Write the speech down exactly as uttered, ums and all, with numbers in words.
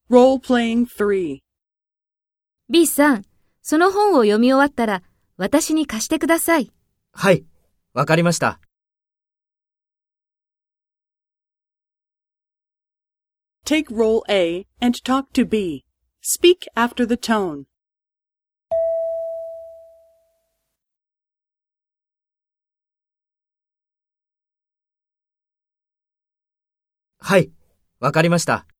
Role-playing three. B さん、その本を読み終わったら私に貸してください。 はい、わかりました。 Take role A and talk to B. Speak after the tone. はい、わかりました。